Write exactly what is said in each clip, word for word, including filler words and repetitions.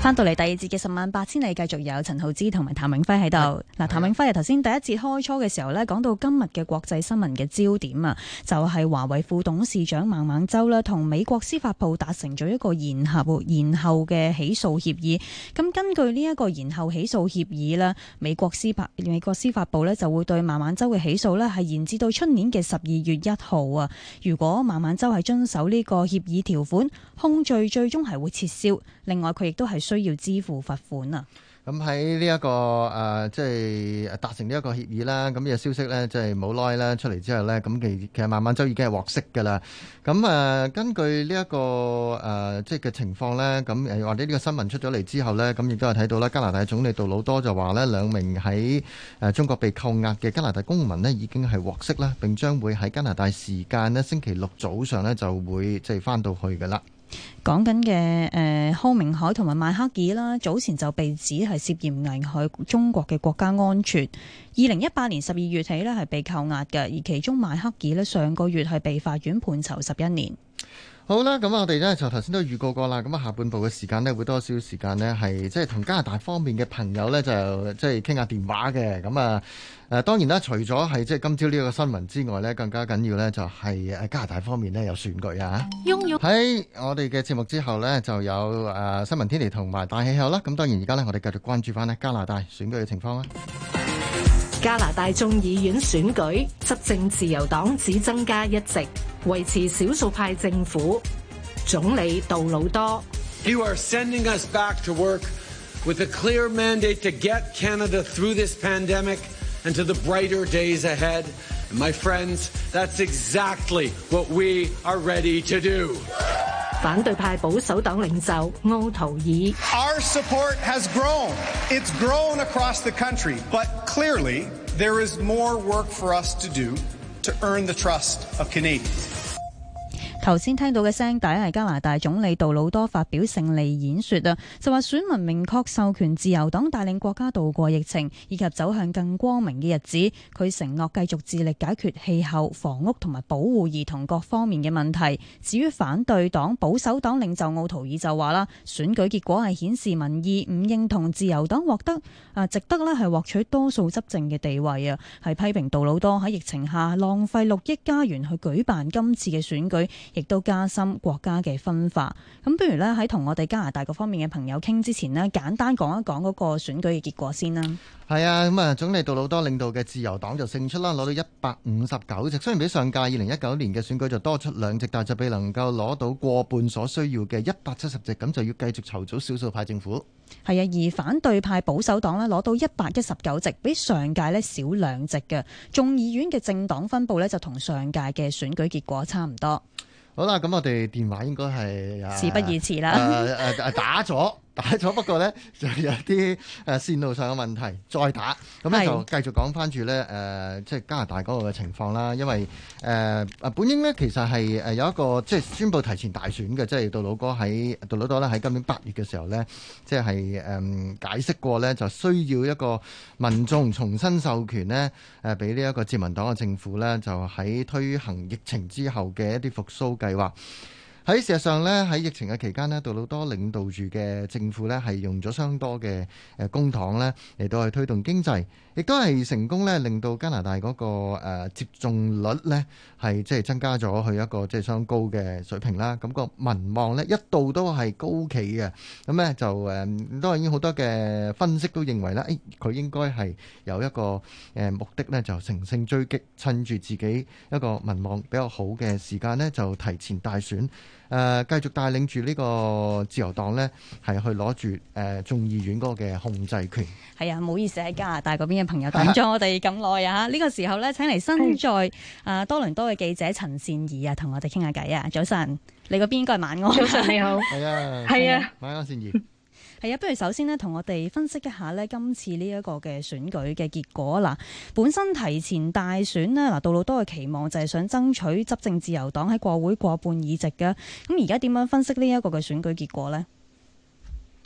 翻到嚟第二節嘅十萬八千里，繼續有陳浩之同埋譚永輝喺度。嗱，譚永輝啊，頭先第一節開初嘅時候呢，講到今日嘅國際新聞嘅焦點啊，就係華為副董事長孟晚舟啦，同美國司法部達成咗一個延後延後嘅起訴協議。咁根據呢一個延後起訴協議呢，美國司法美國司法部呢就會對孟晚舟嘅起訴呢係延至到出年嘅十二月一號啊。如果孟晚舟係遵守呢個協議條款，控罪最終係會撤銷。另外，佢亦都係需要支付罰款啊。 咁喺呢一個誒，即係達成呢一個協議啦。咁呢個消息呢，即係冇耐啦出嚟之後呢，咁其其實孟晚舟已經係獲釋㗎啦。咁誒，根據呢一個誒，即係嘅情況呢，咁誒或者呢個新聞出咗嚟之後呢，咁亦都係睇到啦。加拿大總理杜魯多就話呢，兩名喺誒中國被扣押嘅加拿大公民呢已經係獲釋啦，並將會喺加拿大時間呢星期六早上呢就會即係翻到去㗎啦。 講緊嘅誒康明凱同埋邁克爾啦，早前就被指係涉嫌危害中國嘅國家安全。二零一八年十二月起呢係被扣押嘅，而其中邁克爾呢上個月係被法院判囚十一年。 好啦，咁我哋呢就頭先都預告過啦。咁啊，下半部嘅時間呢會多少時間呢係即係同加拿大方面嘅朋友呢，就即係傾下電話嘅。咁啊誒，當然啦，除咗係即係今朝呢個新聞之外呢，更加緊要呢就係誒加拿大方面呢有選舉啊。喺我哋嘅節目之後呢，就有誒新聞天地同埋大氣候啦。咁當然而家呢，我哋繼續關注翻呢加拿大選舉嘅情況啦。 加拿大眾議院選舉，執政自由黨只增加一席，維持少數派政府。總理杜魯多 You are sending us back to work with a clear mandate to get Canada through this pandemic and to the brighter days ahead. And my friends, that's exactly what we are ready to do. 反對派保守黨領袖奧圖爾 Our support has grown. It's grown across the country, but clearly there is more work for us to do to earn the trust of Canadians. 頭先聽到嘅聲帶係加拿大總理杜魯多發表勝利演說啊，就話選民明確授權自由黨帶領國家度過疫情，以及走向更光明嘅日子。佢承諾繼續致力解決氣候、房屋同埋保護兒童各方面嘅問題。至於反對黨保守黨領袖奧圖爾就話啦，選舉結果係顯示民意唔認同自由黨獲得啊，值得咧係獲取多數執政嘅地位啊，係批評杜魯多喺疫情下浪費六億加元去舉辦今次嘅選舉，亦都加深國家嘅分化。咁不如呢，喺同我哋加拿大嗰方面嘅朋友傾之前呢，簡單講一講嗰個選舉嘅結果先啦。 係啊，咁啊，總理杜魯多領導嘅自由黨就勝出啦，攞到一百五十九席。雖然比上屆二零一九年嘅選舉就多出兩席，但就未能夠攞到過半所需要嘅一百七十席，咁就要繼續籌組少數派政府。 係啊，而反對派保守黨呢，攞到一百一十九席，比上屆呢少兩席嘅。眾議院嘅政黨分佈呢，就同上屆嘅選舉結果差唔多。 好啦，咁我哋電話應該係事不宜遲啦。 誒誒誒打咗。打咗，不過呢，就有啲誒線路上嘅問題，再打咁咧就繼續講翻住呢，誒，即係加拿大嗰個嘅情況啦。因為誒誒、呃、本應呢，其實係誒有一個即係宣布提前大選嘅，即係杜魯多喺杜魯多咧喺今年八月嘅時候呢，即係誒、嗯、解釋過呢，就需要一個民眾重新授權呢，誒俾呢一個自民黨嘅政府呢，就喺推行疫情之後嘅一啲復甦計劃。喺事實上呢，喺疫情嘅期間呢，杜魯多領導住嘅政府呢，係用咗相當多嘅誒公帑呢嚟到去推動經濟，亦都係成功呢令到加拿大嗰個誒接種率呢係即係增加咗去一個即係相當高嘅水平啦。咁個民望呢一度都係高企嘅，咁呢就誒當然好多嘅分析都認為呢，誒佢應該係有一個誒目的呢，就乘勝追擊，趁住自己一個民望比較好嘅時間呢，就提前大選。誒、呃、繼續帶領住呢個自由黨呢，係去攞住誒眾議院嗰個嘅控制權。 係啊，唔好意思喺加拿大嗰邊嘅朋友等咗我哋咁耐啊！呢個時候呢，請嚟身在啊多倫多嘅記者陳善宜啊，同我哋傾下偈啊！早晨，你嗰邊應該係晚安。 早晨你好， 係啊， 係啊， 晚安善宜。 係啊，不如首先呢，同我哋分析一下呢今次呢一個嘅選舉嘅結果啦。本身提前大選呢，嗱杜魯多嘅期望就係想爭取執政自由黨喺國會過半議席嘅。咁而家點樣分析呢一個嘅選舉結果呢？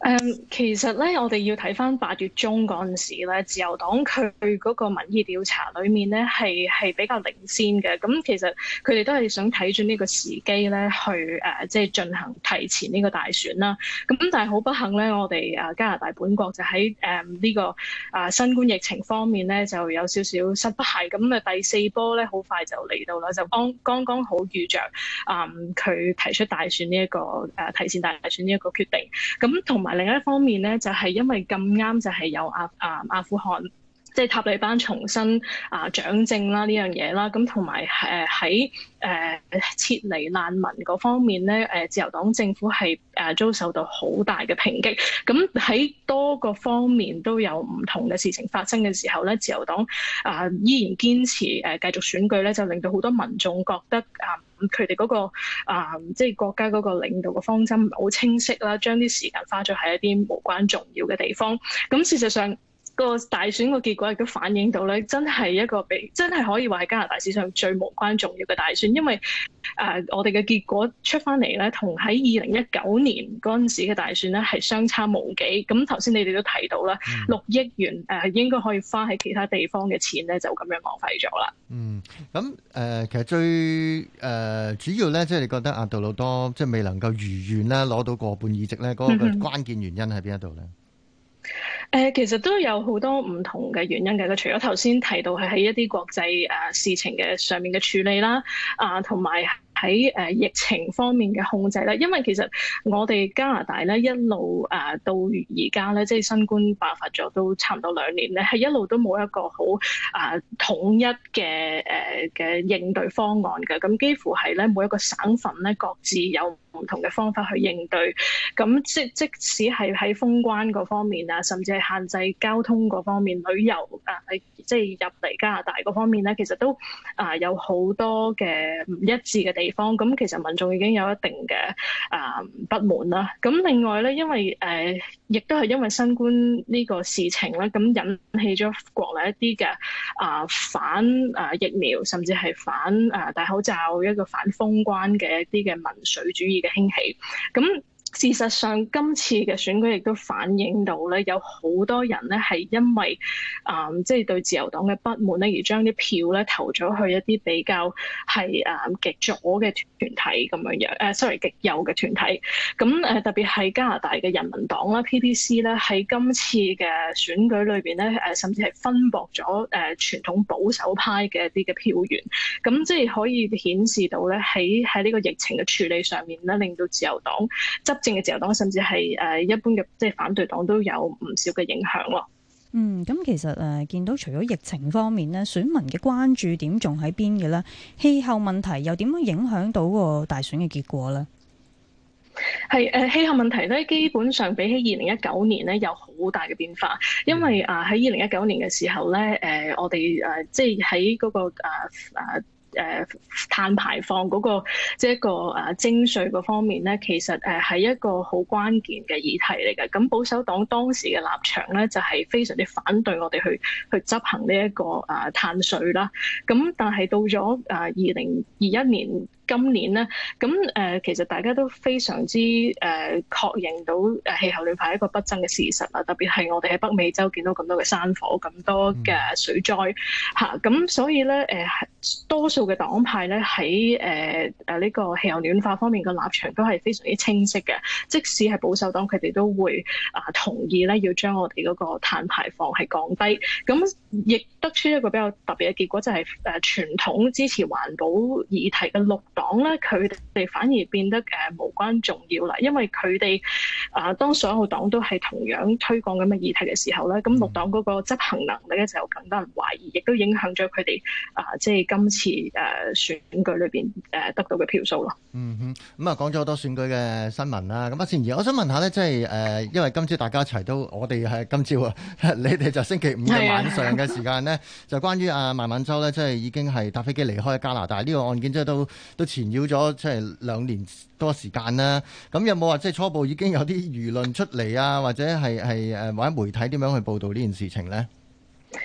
誒，其實咧，我哋要睇翻八月中嗰陣時咧，自由黨佢嗰個民意調查裏面咧，係係比較領先嘅。咁其實佢哋都係想睇住呢個時機咧，去誒即係進行提前呢個大選啦。咁但係好不幸咧，我哋誒加拿大本國就喺誒呢個啊新冠疫情方面咧，就有少少失敗。咁啊第四波咧，好快就嚟到啦，就剛剛剛好遇着啊佢提出大選呢一個誒提前大選呢一個決定。咁同埋另一方面咧，就係因為咁啱就係有阿啊阿富汗即係塔利班重新啊掌政啦呢樣嘢啦，咁同埋誒喺誒撤離難民嗰方面咧，誒自由黨政府係誒遭受到好大嘅抨擊。咁喺多個方面都有唔同嘅事情發生嘅時候咧，自由黨啊依然堅持誒繼續選舉咧，就令到好多民眾覺得啊佢哋嗰個啊即係國家嗰個領導嘅方針唔係好清晰啦，將啲時間花咗喺一啲無關重要嘅地方。咁事實上，個大選個結果亦都反映到咧，真係一個比真係可以話係加拿大史上最無關重要嘅大選，因為誒、呃、我哋嘅結果出翻嚟咧，同喺二零一九年嗰陣時嘅大選咧係相差無幾。咁頭先你哋都提到啦，六億元誒、呃、應該可以花喺其他地方嘅錢咧，就咁樣浪費咗啦。嗯， 咁誒、呃、其實最誒、呃、主要咧，即係你覺得阿杜魯多即係未能夠如願啦，攞到過半議席咧，嗰、那個關鍵原因喺邊一度咧？ 誒、呃，其實都有好多唔同嘅原因嘅。佢除咗頭先提到係喺一啲國際誒、呃、事情嘅上面嘅處理啦，啊同埋喺誒疫情方面嘅控制啦。因為其實我哋加拿大咧一路誒、呃、到而家咧，即係新冠爆發咗都差唔多兩年咧，係一路都冇一個好啊、呃、統一嘅誒嘅應對方案嘅。咁幾乎係咧每一個省份咧各自有唔同嘅方法去應對。咁即即使係喺封關嗰方面啊，甚至係限制交通嗰方面、旅遊啊，即係入嚟加拿大嗰方面咧，其實都啊有好多嘅唔一致嘅地方。咁其實民眾已經有一定嘅啊不滿啦。咁另外咧，因為誒亦都係因為新冠呢個事情咧，咁引起咗國內一啲嘅啊反啊疫苗，甚至係反啊戴口罩一個反封關嘅一啲嘅民粹主義嘅興起。咁事實上，今次嘅選舉亦都反映到咧，有好多人咧係因為啊，即、呃、係、就是、對自由黨嘅不滿咧，而將啲票咧投咗去一啲比較係啊、呃、極左嘅團體咁樣樣。誒、呃、sorry 極右嘅團體。咁誒、呃、特別係加拿大嘅人民黨啦 P P C 咧，喺今次嘅選舉裏邊咧，誒甚至係分薄咗誒、呃、傳統保守派嘅一啲嘅票源。咁即係可以顯示到咧，喺喺呢個疫情嘅處理上面咧，令到自由黨執正嘅自由黨，甚至係誒一般嘅即係反對黨都有唔少嘅影響咯。 嗯，咁其實誒、呃、見到除咗疫情方面咧，選民嘅關注點仲喺邊嘅咧？氣候問題又點樣影響到個大選嘅結果咧？ 係誒氣候問題咧，基本上比起二零一九年咧有好大嘅變化，因為啊喺二零一九年嘅時候咧，誒、呃、我哋誒、呃、即係喺嗰個誒誒。呃誒、呃、碳排放嗰、那個即係一個誒徵稅嗰方面咧，其實誒係一個好關鍵嘅議題嚟嘅。咁保守黨當時嘅立場咧，就係、是、非常之反對我哋去去執行呢、這、一個誒、呃、碳稅啦。咁但係到咗誒二零二一年。今年咧，咁誒、呃、其實大家都非常之誒、呃、確認到誒氣候暖化係一個不爭嘅事實啦。特別係我哋喺北美洲見到咁多嘅山火、咁多嘅水災嚇，咁、啊、所以咧誒、呃、多數嘅黨派咧喺誒誒呢個氣候暖化方面嘅立場都係非常之清晰嘅。即使係保守黨，佢哋都會啊同意咧要將我哋嗰個碳排放係降低。咁亦得出一個比較特別嘅結果，就係、是、誒、呃、傳統支持環保議題嘅綠黨咧，佢哋反而變得誒無關重要啦，因為佢哋啊，當所有黨都係同樣推廣咁嘅議題嘅時候咧，咁綠黨嗰個執行能力咧就有更多人懷疑，亦都影響咗佢哋啊，即係今次誒選舉裏邊誒得到嘅票數咯。嗯哼， 咁啊講咗好多選舉嘅新聞啦，咁啊善怡，我想問下咧，即係誒，因為今朝大家一齊都，我哋係今朝啊，你哋就星期五嘅晚上嘅時間呢，就關於阿孟晚舟咧，即係已經係搭飛機離開加拿大呢個案件，即係都都纏繞咗即係兩年多時間啦。咁有冇話即係初步已經有啲輿論出嚟啊，或者係係誒或者媒體點樣去報導呢件事情呢？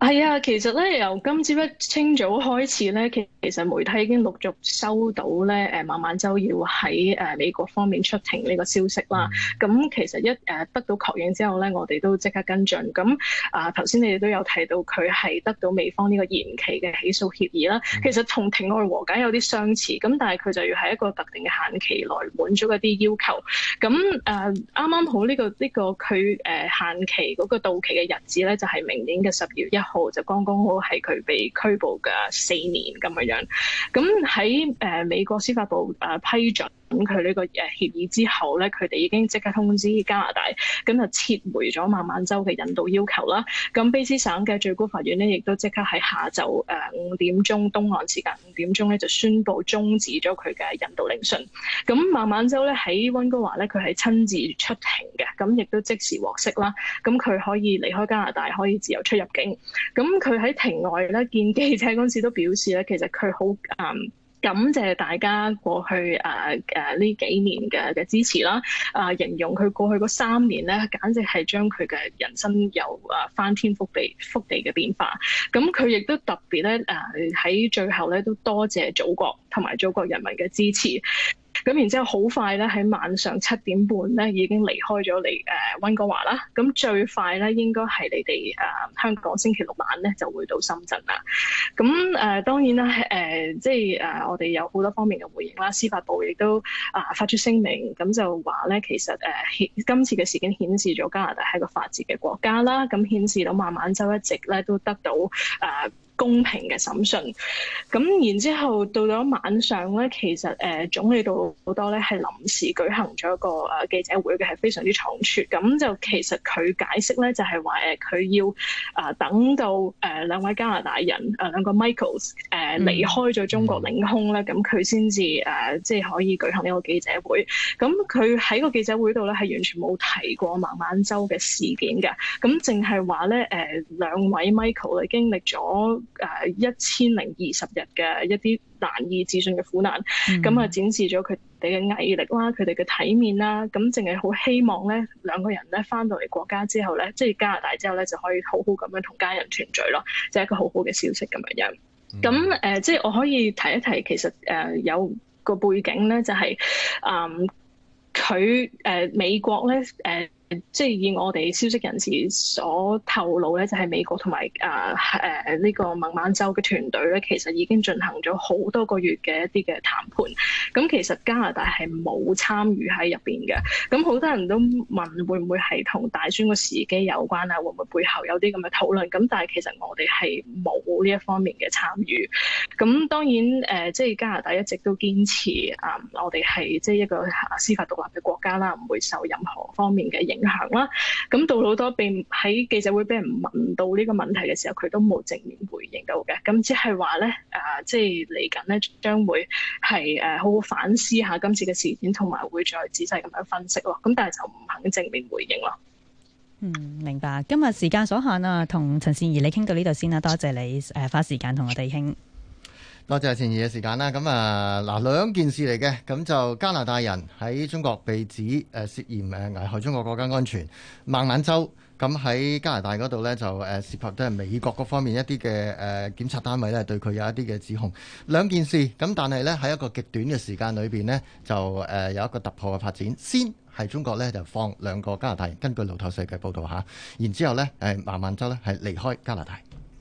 係啊，其實咧由今朝一清早開始咧，其其實媒體已經陸續收到咧誒孟晚舟要喺誒美國方面出庭呢個消息啦。咁、嗯、其實一誒得到確認之後咧，我哋都即刻跟進。咁啊頭先你哋都有提到佢係得到美方呢個延期嘅起訴協議啦。嗯、其實同庭外和解有啲相似，咁但係佢就要喺一個特定嘅限期內滿足一啲要求。咁誒啱啱好呢、這個呢、這個佢誒限期嗰個到期嘅日子咧，就係、是、明年嘅十月一號。就剛剛好係佢被拘捕嘅四年咁樣樣，咁喺誒美國司法部誒批准佢呢個誒協議之後咧，佢哋已經即刻通知加拿大，咁就撤回咗孟晚舟嘅引渡要求啦。咁卑詩省嘅最高法院呢，亦都即刻喺下晝誒五點鐘東岸時間五點鐘咧，就宣布終止咗佢嘅引渡聆訊。咁孟晚舟咧喺溫哥華咧，佢係親自出庭嘅，咁亦都即時獲釋啦。咁佢可以離開加拿大，可以自由出入境。咁佢喺庭外咧見記者嗰陣時都表示咧，其實佢好誒感謝大家過去誒誒呢幾年嘅嘅支持啦。啊、呃，形容佢過去嗰三年咧，簡直係將佢嘅人生有誒翻天覆地覆地嘅變化。咁佢亦都特別咧誒喺最後咧都多謝祖國同埋祖國人民嘅支持。咁然之後好快咧喺晚上七點半咧已經離開咗嚟誒溫哥華啦。咁最快咧應該係你哋誒、呃、香港星期六晚咧就會到深圳啦。咁誒、呃、當然啦誒、呃、即係誒、呃、我哋有好多方面嘅回應啦。司法部亦都啊、呃、發出聲明，咁就話咧其實誒、呃、今次嘅事件顯示咗加拿大係一個法治嘅國家啦。咁顯示到孟晚舟一直咧都得到誒、呃公平嘅審訊，咁然之後到咗晚上咧，其實誒、呃、總理杜魯多咧係臨時舉行咗一個誒、呃、記者會嘅，係非常之倉促。咁就其實佢解釋咧就係話誒佢要啊、呃、等到誒、呃、兩位加拿大人誒、呃、兩個 Michaels 誒、呃、離開咗中國領空咧，咁佢先至誒即係可以舉行呢個記者會。咁佢喺個記者會度咧係完全冇提過孟晚舟嘅事件嘅，咁淨係話咧誒兩位 Michael 咧經歷咗誒一千零二十日嘅一啲難以置信嘅苦難，咁啊、嗯、展示咗佢哋嘅毅力啦，佢哋嘅體面啦，咁淨係好希望咧兩個人咧翻到嚟國家之後咧，即係加拿大之後咧就可以好好咁樣同家人團聚咯，就係、是、一個好好嘅消息咁樣樣。咁誒、嗯呃，即係我可以提一提，其實誒、呃、有個背景咧，就係誒佢誒美國咧誒。呃即係以我哋消息人士所透露咧，就係、是、美國同埋誒誒呢個孟晚舟嘅團隊咧，其實已經進行咗好多個月嘅一啲嘅談判。咁其實加拿大係冇參與喺入邊嘅。咁好多人都問會唔會係同大選個時機有關啊？會唔會背後有啲咁嘅討論？咁但係其實我哋係冇呢一方面嘅參與。咁當然誒、呃，即係加拿大一直都堅持啊、呃，我哋係即係一個司法獨立嘅國家啦，唔會受任何方面嘅影響啦，咁杜魯多被喺記者會俾人問到呢個問題嘅時候，佢都冇正面回應到嘅，咁只係話咧，誒、呃，即係嚟緊咧，將會係誒好好反思下今次嘅事件，同埋會再仔細咁樣分析咯。咁但係就唔肯正面回應咯。 嗯，明白。今日時間所限啊，同陳善宜你傾到呢度先啦，多謝你誒、呃、花時間同我哋傾。 多謝善宜嘅時間啦，咁啊嗱兩件事嚟嘅，咁就加拿大人喺中國被指誒涉嫌誒危害中國國家安全，孟晚舟咁喺加拿大嗰度呢，就誒涉及都係美國嗰方面一啲嘅誒檢察單位呢，對佢有一啲嘅指控，兩件事咁，但係呢，喺一個極短嘅時間裏邊呢，就誒有一個突破嘅發展，先係中國呢，就放兩個加拿大人，根據路透社嘅報導嚇，然之後呢，誒孟晚舟呢，係離開加拿大。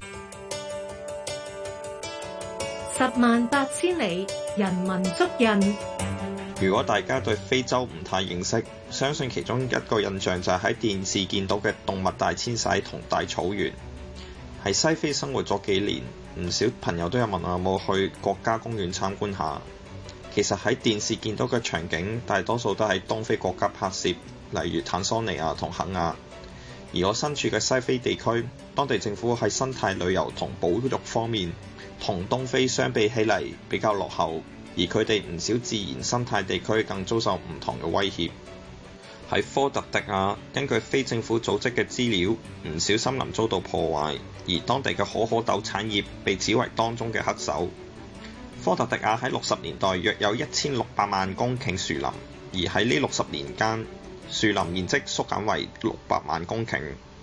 十萬八千里，人文足印。 如果大家對非洲唔太認識，相信其中一個印象就係喺電視見到嘅動物大遷徙同大草原。喺西非生活咗幾年，唔少朋友都有問我有冇去國家公園參觀下。其實喺電視見到嘅場景，大多數都係東非國家拍攝，例如坦桑尼亞同肯亞。而我身處嘅西非地區，當地政府喺生態旅遊同保育方面，同東非相比起嚟比較落後，而佢哋唔少自然生態地區更遭受唔同嘅威脅。喺科特迪瓦，根據非政府組織嘅資料，唔少森林遭到破壞，而當地嘅可可豆產業被指為當中嘅黑手。科特迪瓦喺六十年代約有一千六百萬公頃樹林，而喺呢六十年間，樹林面積縮減為六百萬公頃。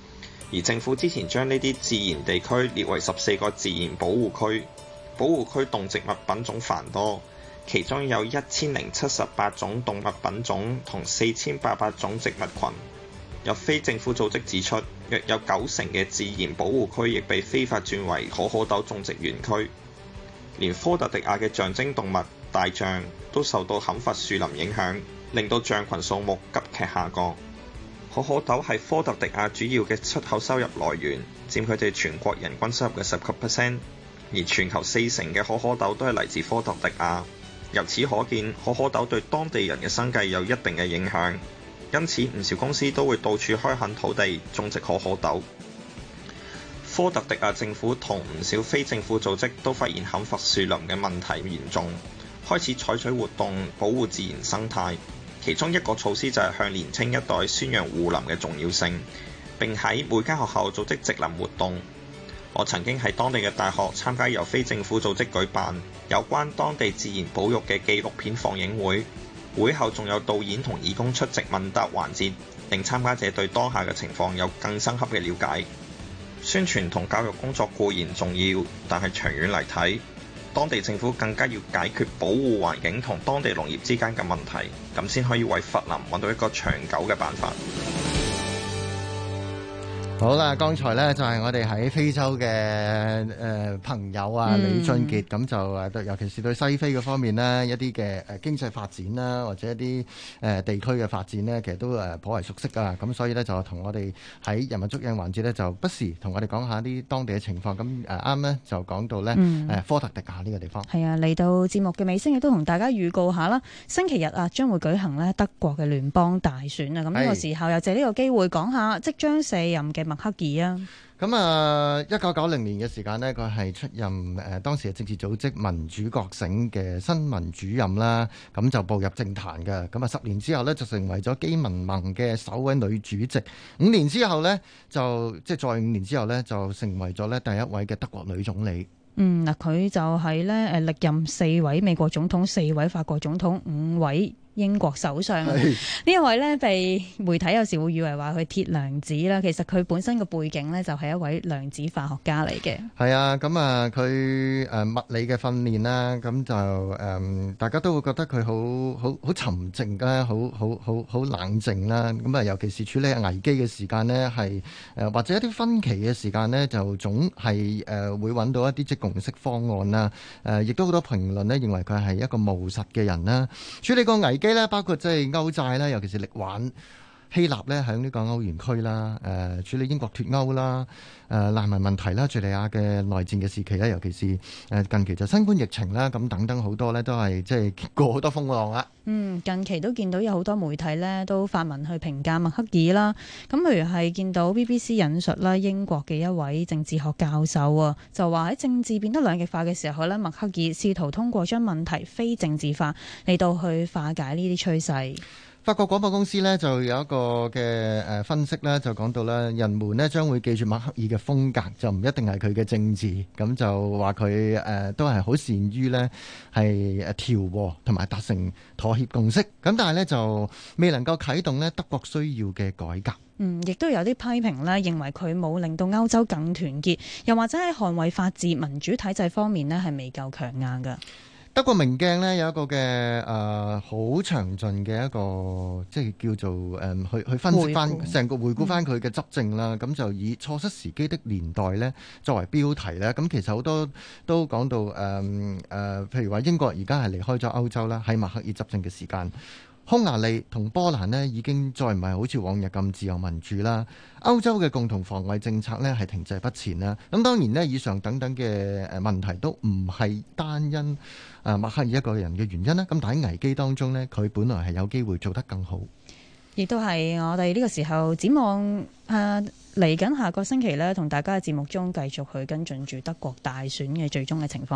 而政府之前將呢啲自然地區列為十四個自然保護區，保護區動植物品種繁多，其中有一千零七十八種動物品種同四千八百種植物群。有非政府組織指出，約有九成嘅自然保護區亦被非法轉為可可豆種植園區。連科特迪瓦嘅象徵動物大象都受到砍伐樹林影響，令到象群數目急劇下降。可可豆係科特迪瓦主要嘅出口收入來源，佔佢哋全國人均收入嘅十個 percent， 而全球四成嘅可可豆都係嚟自科特迪瓦。由此可見，可可豆對當地人嘅生計有一定嘅影響。因此，唔少公司都會到處開墾土地種植可可豆。科特迪瓦政府同唔少非政府組織都發現砍伐樹林嘅問題嚴重，開始採取活動保護自然生態。其中一個措施就係向年青一代宣揚護林嘅重要性，並喺每間學校組織植林活動。我曾經喺當地嘅大學參加由非政府組織舉辦有關當地自然保育嘅紀錄片放映會。會後仲有導演同義工出席問答環節，令參加者對當下嘅情況有更深刻嘅了解。宣傳同教育工作固然重要，但係長遠嚟睇，當地政府更加要解決保護環境同當地農業之間嘅問題，咁先可以為伐林揾到一個長久嘅辦法。 好啦，剛才呢就係、是、我哋喺非洲嘅誒、呃、朋友啊，李俊傑咁就誒，尤其是對西非嘅方面呢，一啲嘅誒經濟發展啦，或者一啲誒、呃、地區嘅發展呢，其實都誒頗為熟悉㗎。咁所以呢，就同我哋喺人物足印環節呢，就不時同我哋講下啲當地嘅情況。咁誒啱呢，就講到呢誒、嗯呃、科特迪瓦呢個地方。係啊，嚟到節目嘅尾聲，亦都同大家預告下啦。星期日啊，將會舉行呢德國嘅聯邦大選啊。咁呢個時候又借呢個機會講下即將卸任嘅默克爾啊。 咁啊，一九九零年嘅時間呢，佢係出任誒、呃、當時嘅政治組織民主覺醒嘅新聞主任啦。咁就步入政壇嘅。咁啊，十年之後呢，就成為咗基民盟嘅首位女主席。五年之後呢，就即係再五年之後呢，就成為咗呢第一位嘅德國女總理。 嗯，嗱，佢就係呢誒歷任四位美國總統、四位法國總統、五位英國首相。呢一位呢，被媒體有時會以為話佢鐵娘子啦，其實佢本身嘅背景呢，就係一位量子化學家嚟嘅。係啊，咁啊佢誒物理嘅訓練啦，咁就誒、呃、大家都會覺得佢好好好沉靜啦，好好好好冷靜啦。咁啊，尤其是處理危機嘅時間呢，係誒、呃、或者一啲分歧嘅時間呢，就總係誒、呃、會揾到一啲即共識方案啦。誒、呃，亦都好多評論呢認為佢係一個務實嘅人啦。處理個危機呢，包括即係歐債啦，尤其是力挽希臘呢喺呢個歐元區啦，誒、呃、處理英國脫歐啦，誒、呃、難民問題啦，敍利亞嘅內戰嘅時期呢，尤其是誒近期就新冠疫情啦，咁等等好多呢都係即係過好多風浪啦。嗯，近期都見到有好多媒體呢都發文去評價默克爾啦，咁譬如係見到 B B C 引述啦英國嘅一位政治學教授啊，就話喺政治變得兩極化嘅時候呢，默克爾試圖通過將問題非政治化嚟到去化解呢啲趨勢。法國廣播公司呢就有一個嘅誒分析呢，就講到咧，人們呢將會記住默克爾嘅風格，就唔一定係佢嘅政治。咁就話佢誒都係好善於呢係誒調和同埋達成妥協共識。咁但係呢，就未能夠啟動呢德國需要嘅改革。嗯，亦都有啲批評呢，認為佢冇令到歐洲更團結，又或者喺捍衛法治民主體制方面呢係未夠強硬㗎。德國明鏡呢有一個嘅誒好詳盡嘅一個即係叫做誒、呃、去去分析翻成個回顧翻佢嘅執政啦，咁、嗯、就以錯失時機的年代呢作為標題呢。咁其實好多都講到誒誒、呃呃，譬如話英國而家係離開咗歐洲啦，喺默克爾執政嘅時間。匈牙利同波蘭呢已經再唔係好似往日咁自由民主啦。歐洲嘅共同防衛政策呢係停滯不前啦。咁當然呢，以上等等嘅誒問題都唔係單因誒默克爾一個人嘅原因啦。咁但喺危機當中呢，佢本來係有機會做得更好。亦都係我哋呢個時候展望誒嚟緊下個星期呢，同大家嘅節目中繼續去跟進住德國大選嘅最終嘅情況。